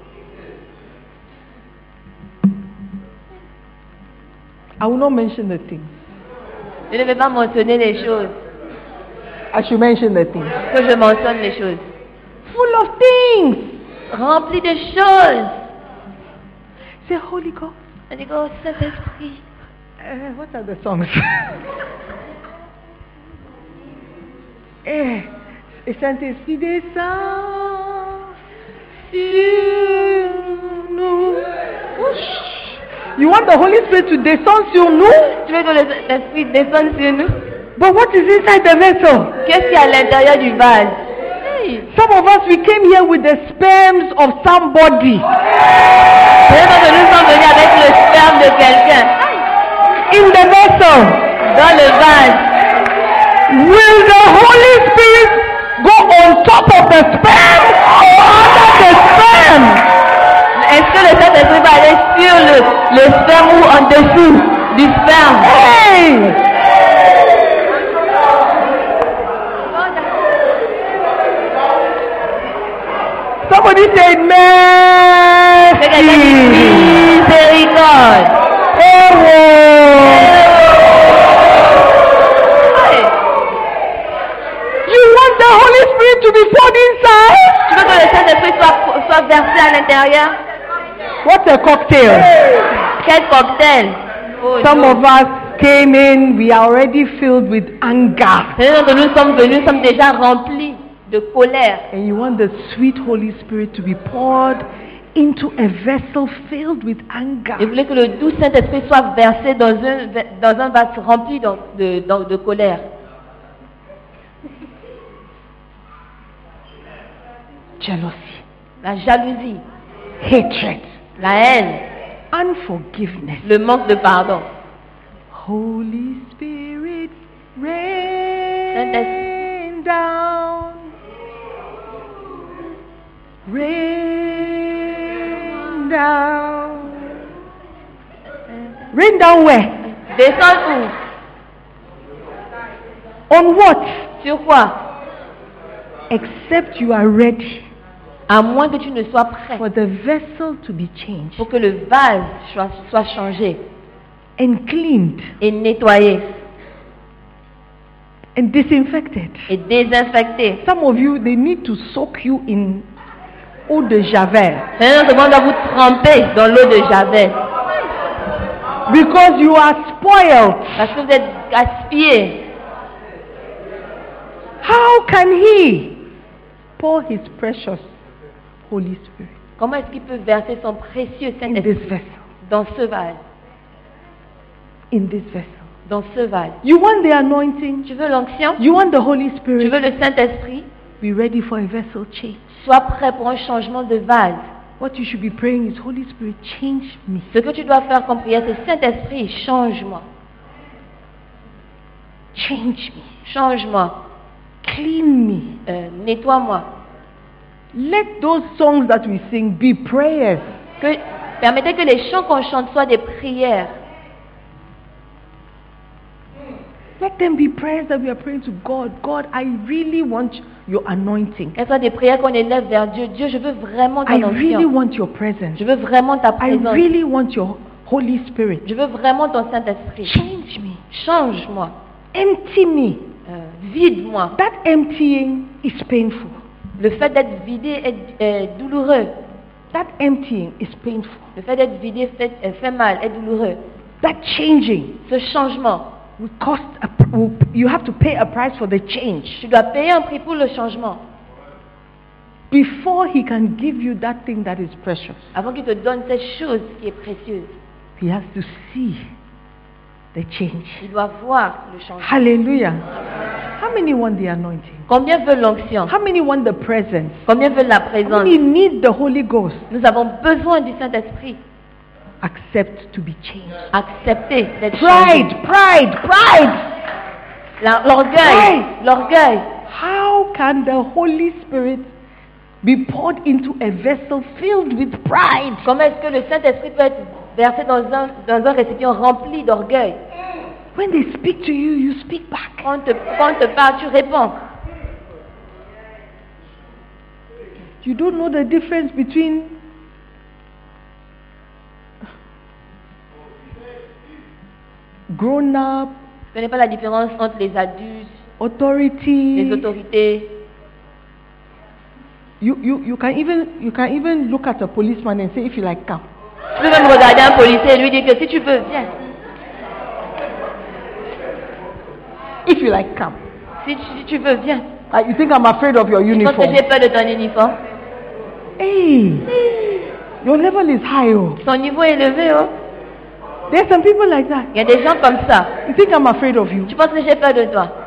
I will not mention the things. Je ne vais pas mentionner les choses. I should mention the things. Que je mentionne les choses. Full of things. Rempli de choses. Say, Holy Ghost, On dit, oh Saint-Esprit. Uh, what are the songs? eh, et Saint-Esprit descend sur nous. You want the Holy Spirit to descend sur nous? Tu veux que le Saint-Esprit descende sur nous? But what is inside the vessel? Qu'est-ce qu'il y a à l'intérieur du vase? Hey. Some of us, we came here with the sperms of somebody. Peut-être que nous sommes venus avec le sperme de quelqu'un. In the vessel. Dans le vase. Will the Holy Spirit go on top of the sperm or under the sperm? Est-ce que le Saint-Esprit va aller sur le, le sperme ou en dessous du sperme? Hey! Somebody say mercy. Miséricorde. Oh, you want the Holy Spirit to be poured inside? Tu veux que le Saint-Esprit soit, soit versé à l'intérieur? What a cocktail. Quel cocktail. Oh, Some Dieu. of us came in, we are already filled with anger. Nous, nous sommes venus, nous sommes déjà remplis de colère. And you want the sweet Holy Spirit to be poured into a vessel filled with anger. Et vous voulez que le doux Saint-Esprit soit versé dans un, dans un vase rempli de, de, de, de colère. Jealousy, La jalousie, hatred, la haine, unforgiveness. le manque de pardon. Holy Spirit, rain down, rain down, rain down where? Descends où? On what? Sur quoi? Except you are ready À moins que tu ne sois prêt for the vessel to be changed pour que le vase soit, soit changé and cleaned et nettoyé and disinfected. et désinfecté. Some of you, they need to soak you in eau de javel Maintenant, tout le monde doit vous tremper dans l'eau de Javel because you are spoiled. parce que vous êtes gaspillés. How can he pour his precious Holy Spirit Comment est-ce qu'il peut verser son précieux in this Saint-Esprit vessel? dans ce vase? In this vessel. Dans ce vase. You want the anointing? Tu veux l'onction? You want the Holy Tu Spirit? veux le Saint-Esprit? Be ready for a vessel change. Sois prêt pour un changement de vase. What you should be praying is, Holy Spirit, change me. Ce que tu dois faire comme prière, c'est Saint-Esprit, change-moi. Change me. Change-moi. Clean me. Euh, nettoie-moi. Let those songs that we sing be prayers. Que, permettez que les chants qu'on chante soient des prières. Let them be prayers that we are praying to God. God, I really want your anointing. Qu'elles soient des prières qu'on élève vers Dieu. Dieu, je veux vraiment ton I really onction. want your presence. Je veux vraiment ta I présence. really want your Holy Spirit. Je veux vraiment ton Saint-Esprit. Change me. Change-moi. Empty me. Euh, vide-moi. That emptying is painful. Le fait d'être vidé est, est douloureux. That emptying is painful. Le fait d'être vidé fait, euh, fait mal, est douloureux. That changing Ce changement, will cost a, will, you have to pay a price for the change tu dois payer un prix pour le changement. before he can give you that thing that is precious. Avant qu'il te donne cette chose qui est précieuse, He has to see the change. il doit voir le changement. Hallelujah. How many want the anointing? Combien veut l'onction? How many want the presence? Combien veut la How présence? many need the Holy Ghost? Nous avons besoin du Saint-Esprit. Accept to be changed. Accepter d'être Pride, changé. pride, pride. La- L'orgueil, Pride. l'orgueil. How can the Holy Spirit be poured into a vessel filled with pride? Comment est-ce que le Saint-Esprit peut être versé dans un, dans un récipient rempli d'orgueil? When they speak to you, you speak back. Quand on te, quand on te parle, tu réponds. You don't know the difference between grown up, Tu ne connais pas la différence entre les adultes, les authority. autorités. You, you, you can even you can even look at a policeman and say, if you like, come. Tu peux même regarder un policier et lui dire que si tu veux, viens. If you like, come. Si tu, si tu veux, viens. Uh, you think I'm afraid of your Tu penses que uniform? j'ai peur de ton uniforme? Hey, your level is high. Oh. Ton niveau est élevé, oh. There's some people like that. Il y a des gens comme ça. You think I'm afraid of you? Tu penses que j'ai peur de toi?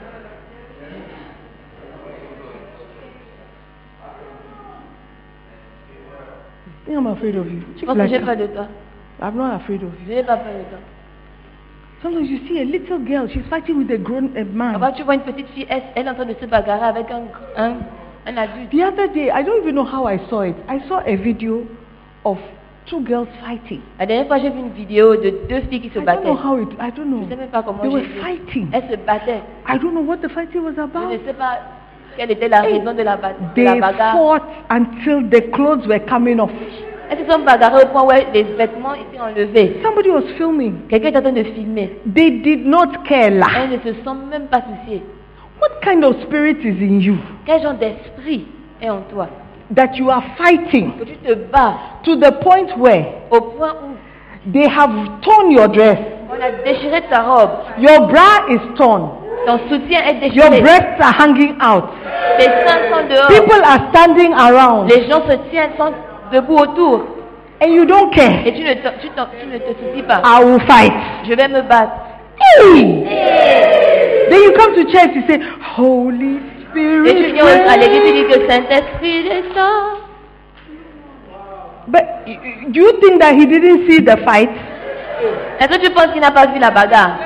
You think I'm afraid of you? Tu penses que j'ai peur de toi? I'm not afraid of you. Je n'ai pas peur de toi. Sometimes you see a little girl, she's fighting with a grown a man. Parfois, tu vois une petite fille, elle, elle est en train de se bagarrer avec un, un, un adulte. The other day, I don't even know how I saw it. I saw a video of two girls fighting. La dernière fois, j'ai vu une vidéo de deux filles qui se I don't battaient. know how it, I don't Je know. ne sais même pas comment They j'ai were vu. fighting. Elles se battaient. I don't know what the fighting was Je about. ne sais pas quelle était la Hey, raison de la, ba- de They la bagarre. fought until the clothes were coming off. Elles se sont bagarrées au point où les vêtements étaient enlevés. Somebody was filming. Quelqu'un est en train de filmer. They did not care. lah. Elles ne se sont même pas souciées. What kind of spirit is in you Quel genre d'esprit est en toi? that you are fighting Que tu te bats to the point where au point où they have torn your dress, on a déchiré ta robe, your bra is torn, ton soutien est your déchiré, breasts are hanging out, tes seins sont dehors, people are standing around, les gens se tiennent, sont debout autour, and you don't et care. tu ne te, tu t'en- tu ne te soucies pas. I will fight. Je vais me battre. Hey! Et Then you come to church, you say, Holy Spirit. tu viens au- à l'église et reign." dis que Saint-Esprit descend. But y- y- do you think that he didn't see the fight? Est-ce que tu penses qu'il n'a pas vu la bagarre?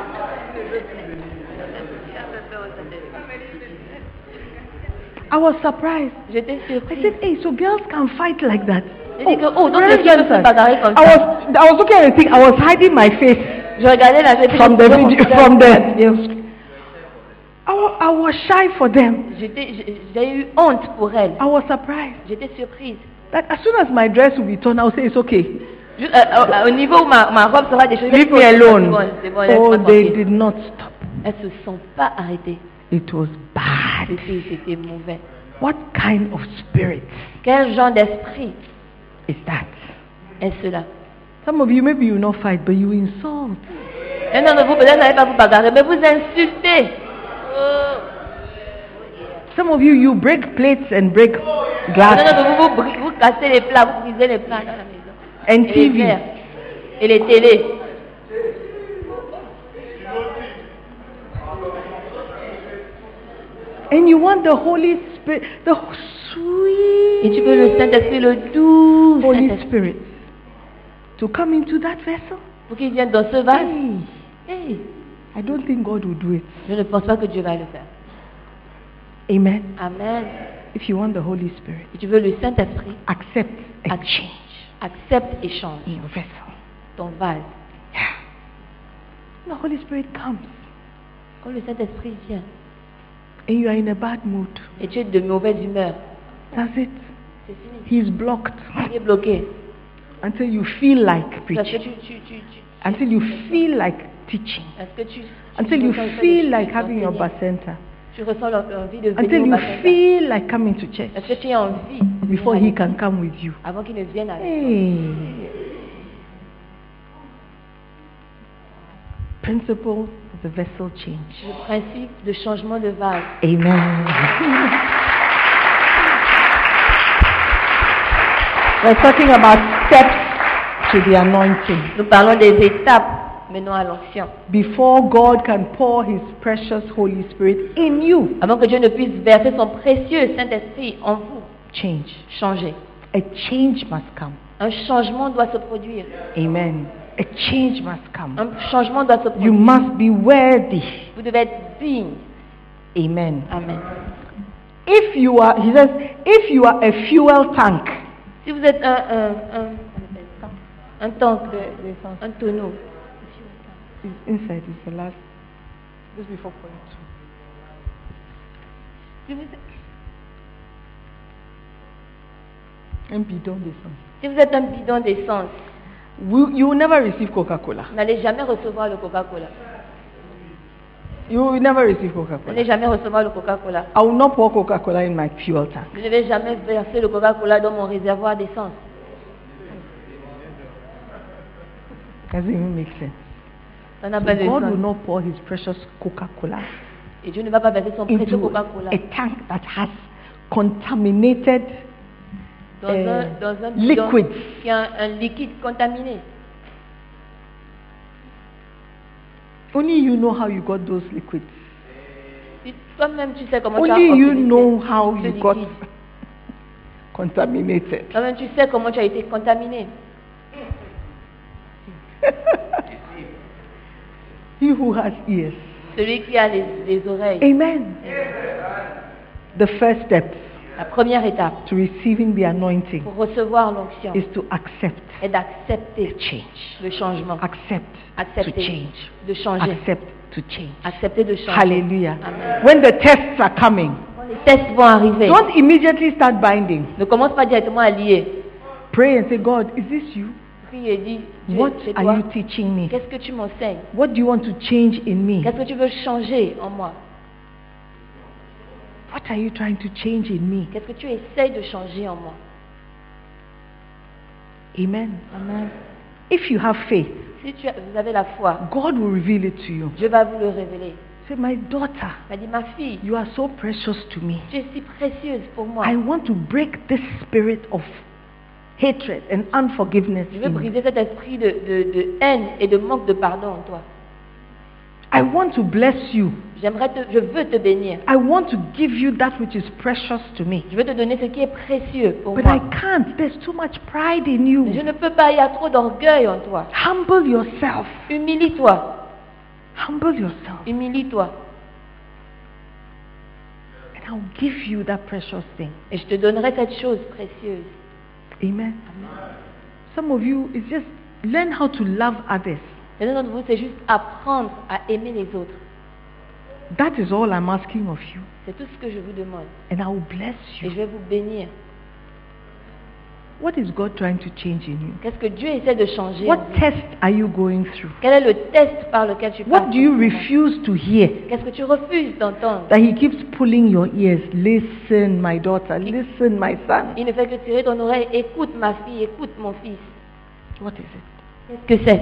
I was surprised. J'étais I surprise. said, hey, so girls can fight like that. J'ai dit que, oh, donc brothers les filles and peuvent se sisters, bagarrer comme I ça. was, I was looking at the thing, I was hiding my face Je regardais la vidéo. from the je video, regardais from la the, vidéo. I was, I was shy for them. J'étais- J'ai j'ai eu honte pour elle. I was surprised J'étais surprise. that as soon as my dress will be torn, I'll say it's okay. Juste, euh, au, au niveau où ma, ma robe sera déchirée, Leave je me dis, alone. C'est bon, c'est bon, Oh, laisse-moi they tranquille. did not stop. Elles se sont pas arrêtées. It was bad. C'était c'était mauvais. What kind of spirit Quel genre d'esprit is that? est cela? Some of you, maybe you will not fight, but you insult. Un d'entre vous, peut-être, n'allez pas vous bagarrer, mais vous insultez. Some of you, you break plates and break Un glass d'entre vous, vous, bri- vous cassez les plats, vous brisez les plats dans la maison. and Et T les V. verres. Et les télés. And you want the Holy Spirit, the sweet Et tu veux le Saint-Esprit, le doux Holy Saint-Esprit, Spirit to come into that vessel. pour qu'il vienne dans ce vase. Hey, Hey, I don't think God will do it. je ne pense pas que Dieu va le faire. Amen. Amen. If you want the Holy Spirit, Si tu veux le Saint-Esprit, accept a Ac- change accepte et change in your vessel. ton vase. The Holy Spirit comes Quand le Saint-Esprit vient and you are in a bad mood. et tu es de mauvaise humeur, That's it. c'est fini. He's blocked Tu es bloqué. until you feel like Parce que preaching, tu, tu, tu, tu, until you feel like teaching, parce que tu, tu until you ressens le fait feel de- like de having your t'enseigner. bacenta, Tu ressens l'en- l'envie de venir until au you baptême. feel like coming to church Est-ce que tu as envie de venir before à he l'église can come with you. avant qu'il ne vienne avec toi? Hey. Principle of the vessel change. Le principe de changement de vase. Amen. We're talking about steps to the anointing. Nous parlons des étapes menant à l'onction. Before God can pour his precious Holy Spirit in you, Avant que Dieu ne puisse verser son précieux Saint-Esprit en vous, change. changez. A change must come. Un changement doit se produire. Amen. A change must come. Un changement doit se You produire. must be worthy. Vous devez être digne. Amen. Amen. If you are, he says, if you are a fuel tank, Si vous êtes un, un, un, on appelle ça, un tank, de, un tonneau, it's inside is the last, just before point two. si vous, Un bidon d'essence. si vous êtes un bidon d'essence, Will- You will never receive Coca-Cola. vous n'allez jamais recevoir le Coca-Cola. You will never receive Vous Coca-Cola. n'allez jamais recevoir le Coca-Cola. I will not pour Coca-Cola in my fuel tank. Je ne vais jamais verser le Coca-Cola dans mon réservoir d'essence. Doesn't even make sense. Ça n'a So pas de God will sens. not pour his precious Coca-Cola Et Dieu ne va pas verser son précieux into Coca-Cola a tank that has contaminated dans, euh, un, dans un bidon liquids. qui a un, un liquide contaminé. Only you know how you got those liquids. Si toi-même tu sais comment tu as Only you obtenu know ce- how ce you got liquide. contaminated. Toi-même tu sais comment tu as été contaminé. He who has ears. Celui qui a les, les oreilles. Amen. The first step La première étape to receiving the anointing pour recevoir l'onction is to accept est d'accepter change. le changement. Accept to Accepter change. de changer. Accept to change. Accepter de changer. Hallelujah. Amen. When the tests are coming, Quand les tests vont arriver, don't immediately start binding. ne commence pas directement à lier. Pray and say, God, is this you? Prie et dis, Dieu, What c'est are toi. you teaching me? Qu'est-ce que tu m'enseignes? What do you want to change in me? Qu'est-ce que tu veux changer en moi? What are you trying to change in me? Qu'est-ce que tu essayes de changer en moi? Amen. Amen. If you have faith, Si tu as- vous avez la foi, God will reveal it to you. Dieu va vous le révéler. Say, my daughter, Il m'a dit, ma fille, you are so precious to me. tu es si précieuse pour moi. I want to break this spirit of hatred and unforgiveness Je veux in you. briser cet esprit de, de, de haine et de manque de pardon en toi. I want to bless you. J'aimerais te, je veux te bénir. I want to give you that which is precious to me. Je veux te donner ce qui est précieux pour But moi. I can't. There's too much pride in Mais je you. ne peux pas, il y a trop d'orgueil en toi. Humble yourself. Humilie-toi. Humble yourself. Humilie-toi. And I'll give you that precious thing. Et je te donnerai cette chose précieuse. Amen. Some of you, it's just learn how to love others. Et l'un d'entre vous, c'est juste apprendre à aimer les autres. That is all I'm asking of you. C'est tout ce que je vous demande. And I will bless Et you. je vais vous bénir. What is God trying to change in you? Qu'est-ce que Dieu essaie de changer en What vous? test are you going through? Quel est le test par lequel tu passes? What do you en ce moment? refuse to hear? Qu'est-ce que tu refuses d'entendre? That He keeps pulling your ears. Listen, my daughter. Listen, my son. Il ne fait que tirer ton oreille. Écoute ma fille, écoute mon fils. What is it? Qu'est-ce que c'est?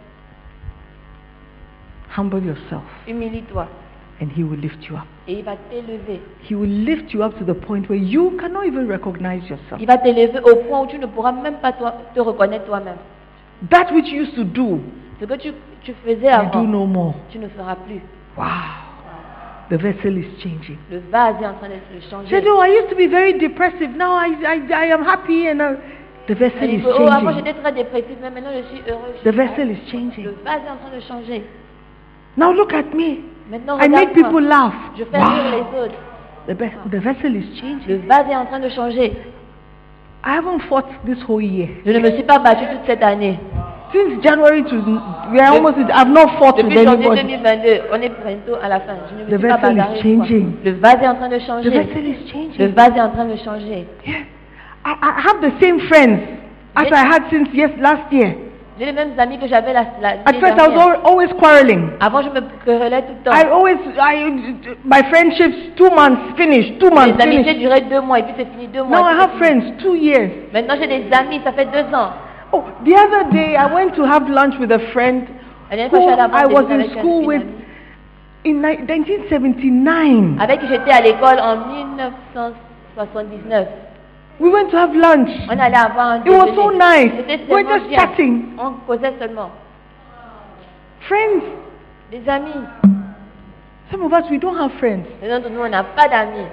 Humble yourself, Humilie-toi. and He will lift you up. Et il va t'élever. He will lift you up to the point where you cannot even recognize yourself. Il va t'élever au point où tu ne pourras même pas toi- te reconnaître toi-même. That which you used to do, Ce que tu, tu faisais you do avant, no more. tu ne feras plus. Wow. The vessel is changing. Le vase est en train de se changer. Said, oh, I used to be very depressive. Now I, I, I am happy, and uh, the vessel Elle is dit, oh, avant changing. j'étais très dépressive, mais maintenant je suis heureuse. The vessel is changing. Le vase est en train de changer. Now look at me. Maintenant, I make people regarde-moi. laugh. Je fais rire Wow. les autres. The, be- the vessel is Le changing. vase est en train de changer. I haven't fought this whole year. Je ne me suis pas battue toute cette année. Since January to we are almost. I've not fought with Depuis janvier anybody. deux mille vingt-deux, on est bientôt à la fin. Je ne me The suis pas vessel is bagarrée. changing. Le vase est en train de The changer. vessel is Le changing. vase est en train de changer. Yeah. I, I have the same friends as I had since yes last year. J'ai les mêmes amis que j'avais la, la At l'année first, I was dernière. al- always quarreling. Avant, je me querellais tout le temps. I always, I, my friendships, two months finished, two months Les amitiés finished. duraient deux mois et puis c'est fini deux mois. Now et I puis have c'est fini. friends, two years. Maintenant, j'ai des amis, ça fait deux ans. Oh, the other day I went to have lunch with a friend La dernière fois, who je suis allée I avoir was des in avec school une with amie in ni- nineteen seventy-nine. avec qui j'étais à l'école en mille neuf cent soixante-dix-neuf. We went to have lunch. On allait avoir un It was so déjeuner. nice. C'était We were tellement just bien. chatting. On causait seulement. Friends. Des amis. Some of us, we don't have friends. Les autres, nous, on n'a pas d'amis.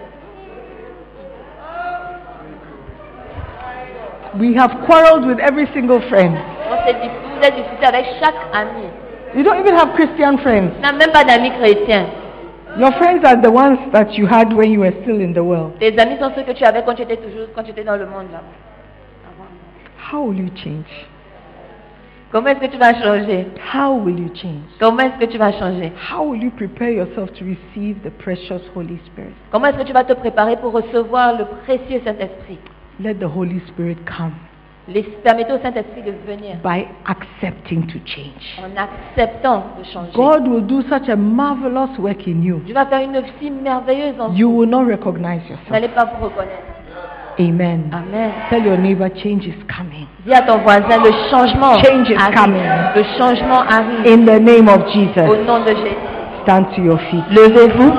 We have quarreled with every single friend. On s'est dit, vous êtes discuté avec chaque ami. You don't even have Christian friends. On n'a même pas d'amis chrétiens. Your friends are the ones that you had when you were still in the world. Tes amis sont ceux que tu avais quand tu étais toujours, quand tu étais dans le monde là. How will you change? Comment est-ce que tu vas changer? How will you change? Comment est-ce que tu vas changer? How will you prepare yourself to receive the precious Holy Spirit? Comment est-ce que tu vas te préparer pour recevoir le précieux Saint-Esprit? Let the Holy Spirit come Les- Permettez au Saint-Esprit de venir by accepting to change. en acceptant de changer. God will do such a marvelous work in you. Dieu va faire une œuvre si merveilleuse en You vous. will not recognize Vous yourself. n'allez pas vous reconnaître. Amen. Amen. Tell your neighbor, change is coming. Dis à ton voisin, le changement Change is arrive. coming. Le changement arrive. In the name of Au Jesus, nom de Jésus. stand to your feet. Levez-vous.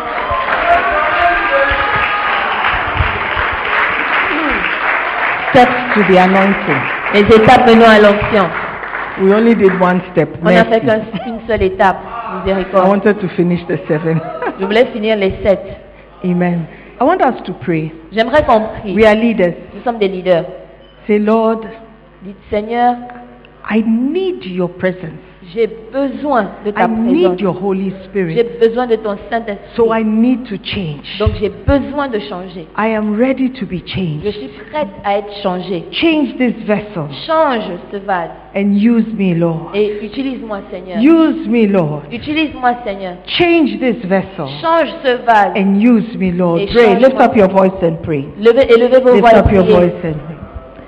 Steps to the anointing. Les étapes menant à l'onction. We only did one step. On n'a fait Mercy. qu'un- qu'une seule étape. I Miséricorde. wanted to finish the seven. Je voulais finir les sept. Amen. I want us to pray. J'aimerais qu'on prie. We are leaders. Nous sommes des leaders. Say, Lord, Dites, Seigneur, I need your presence. j'ai besoin de ta I need présence. your Holy J'ai Spirit. besoin de ton Saint-Esprit. So I need to change. Donc j'ai besoin de changer. I am ready to be Je changed. suis prête à être changée. Change this vessel Change ce vase and use me, Lord. et utilise-moi, Seigneur. Use me, Lord. Utilise-moi, Seigneur. Change this vessel Change ce vase. and use me, Lord. Et Pray. Lift change-moi. up your voice and pray. Levez, élevez vos Lift voix et up your priez. voice and pray.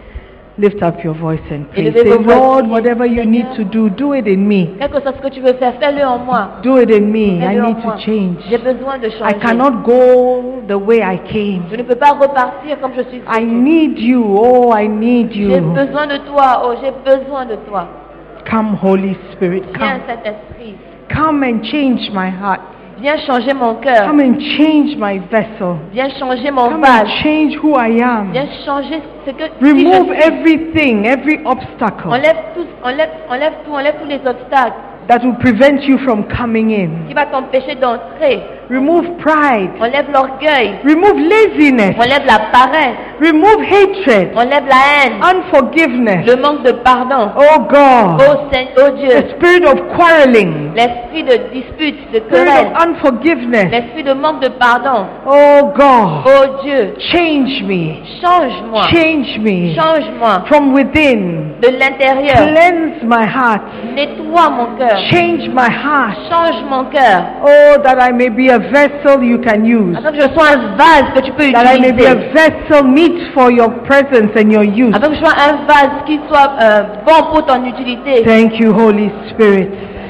Lift up your voice and pray. Élevez Say, vos voix et Lord, priez. whatever you need to do, do it in me. Quel que soit ce que tu veux faire, fais-le en moi. Do it in me. I Fais-le en need to moi. change. J'ai besoin de I changer. cannot go the way I came. Je ne peux pas repartir comme je suis. I need you. Oh, I need J'ai you. besoin de toi. Oh, j'ai besoin de toi. Come, Holy Spirit. Viens, Come. Saint-Esprit. Come and change my heart. Viens changer mon cœur. Come and change my vessel. Viens changer mon Come and vase. change who I am. Viens changer ce que qui Remove je suis. everything, every obstacle Enlève tout, enlève, enlève tout, enlève tous les obstacles that will prevent you from coming in. qui va t'empêcher d'entrer. Remove pride. Enlève l'orgueil. Remove laziness. Enlève la paresse. Remove hatred. Enlève la haine. Unforgiveness. Le manque de pardon. Oh God. Oh, Seigneur, oh Dieu. The spirit of quarreling. L'esprit de dispute, de Spirit querelle. of unforgiveness. L'esprit de manque de pardon. Oh God. Oh Dieu. Change me. Change-moi. Change me. Change-moi. From within. De l'intérieur. Cleanse my heart. Nettoie mon cœur. Change my heart. Change mon cœur. Oh, that I may be a vessel you can use. Afin que je sois un vase que tu peux That I may be a utiliser. vessel meet for your presence and your use. Afin que je sois un vase qui soit euh, bon pour ton utilité. Thank you, Holy Spirit.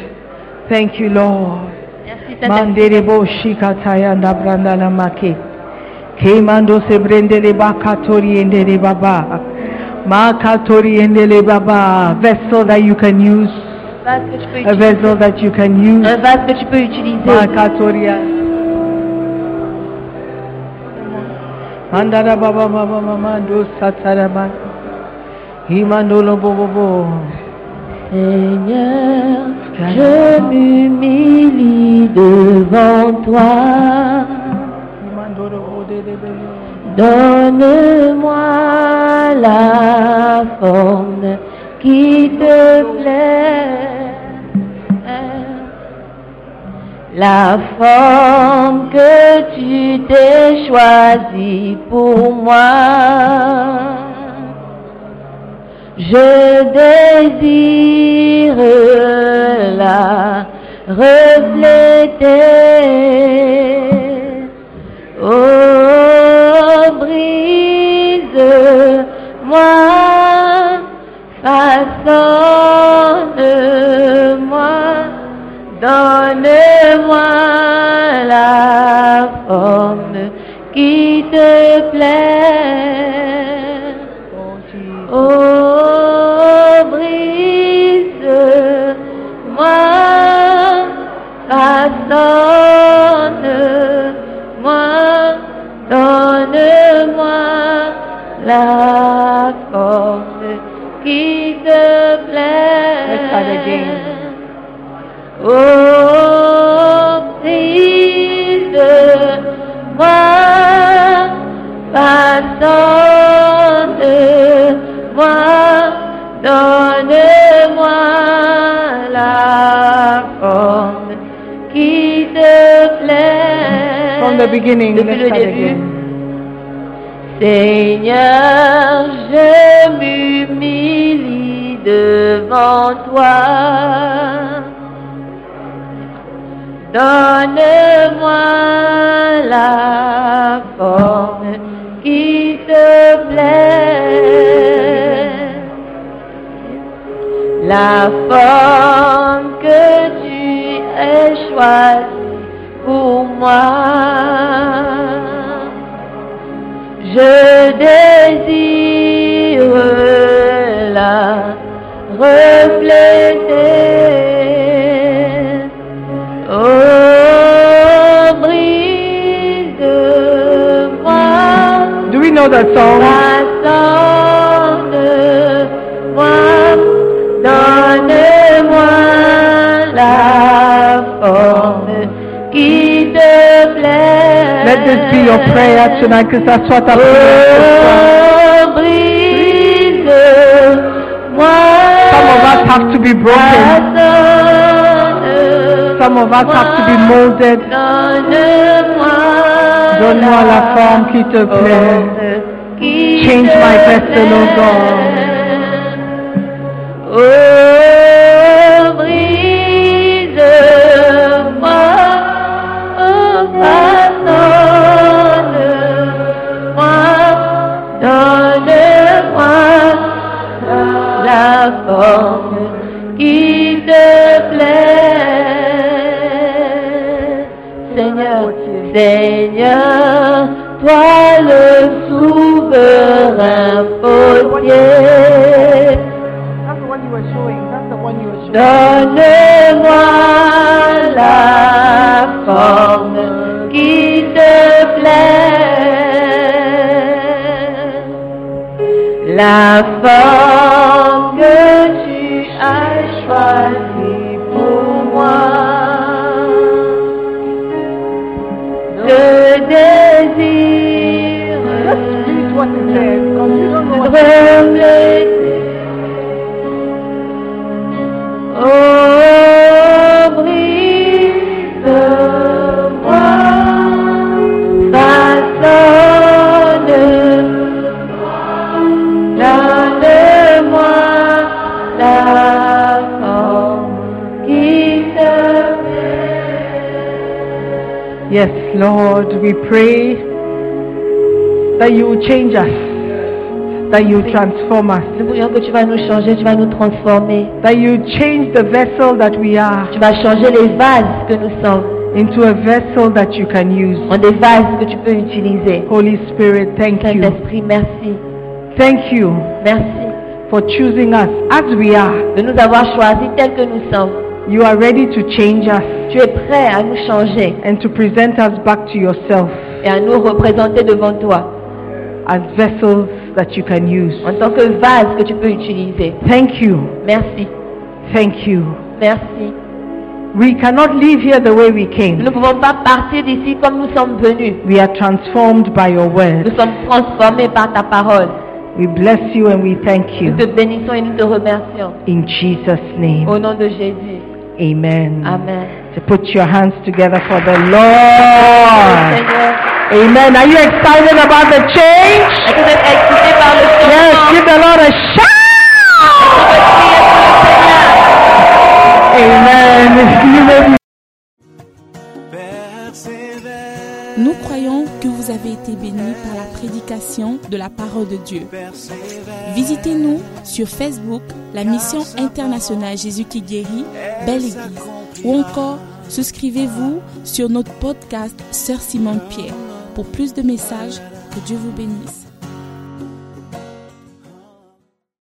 Thank you, Lord. Merci Saint-Esprit. Manderebo shikataya nabranda namake. Kemando se brendele bakatori endele baba. Makatori endele baba. Vessel that you can use. Vase que tu peux A utiliser. vessel that you can use. Un vase que tu peux utiliser. Makatoria. Mandara baba baba mando satarama. Himandolo bobo bo. Seigneur, je m'humilie devant toi. Himandolo bode de bebe. Donne-moi la forme qui te plaît, la forme que tu t'es choisie pour moi. Je désire la refléter. Oh, brise-moi, façonne-moi, donne-moi la forme qui te plaît. Oh, brise-moi, façonne-moi, donne-moi la forme qui te plaît. Let's start again. Oh, brise-moi, façonne-moi, donne-moi la forme qui te plaît. From the beginning, Depuis let's le start début. again. Seigneur, je m'humilie devant toi. Donne-moi la forme qui te plaît, la forme que tu as choisie pour moi. Je know the song? Façonne-moi, donne-moi la forme qui te plaît. Let this be your prayer tonight, que ça soit ta prière ce soir. Oh, brise-moi. Some of us have to be broken. Some of us have to be molded. Donne-moi la forme qui te plaît. Change my vessel, oh God. Oh, brise-moi, oh, façonne-moi, donne-moi la forme qui te plaît. Seigneur, Seigneur, toi le souverain potier. Donne-moi la forme qui te plaît, la forme que tu as choisie pour moi. Je désire trembler. Oh, brise-moi, façonne-moi, donne-moi la forme qui te plaît. Yes, Lord, we pray that you will change us, that you will transform us, Nous prions que tu vas nous changer, tu vas nous transformer. that you change the vessel that we are Tu vas changer les vases que nous sommes into a vessel that you can use. en des vases que tu peux utiliser. Holy Spirit, thank you. Saint-Esprit, merci. Thank you Merci for choosing us as we are. de nous avoir choisis tels que nous sommes. You are ready to change us Tu es prêt à nous changer and to present us back to yourself et à nous représenter devant toi as vessels that you can use. en tant que vase que tu peux utiliser. Thank you. Merci. Thank you. Merci. We cannot leave here the way we Nous came. ne pouvons pas partir d'ici comme nous sommes venus. We are transformed by your word. Nous sommes transformés par ta parole. We bless you and we thank Nous you. te bénissons et nous te remercions. In Jesus' Au name. nom de Jésus. Amen. Amen. So put your hands together for the Lord. Seigneur, Amen. Are you excited about the change? est-ce que vous êtes excités par le Yes, changement? give the Lord a shout. Amen. You may be- Persévère, Nous croyons que vous avez été bénis par la prédication de la parole de Dieu. persévère. Visitez-nous sur Facebook, la mission internationale Jésus qui guérit, Belle Église. Ou encore, souscrivez-vous sur notre podcast Sœur Simone Pierre. Pour plus de messages, que Dieu vous bénisse.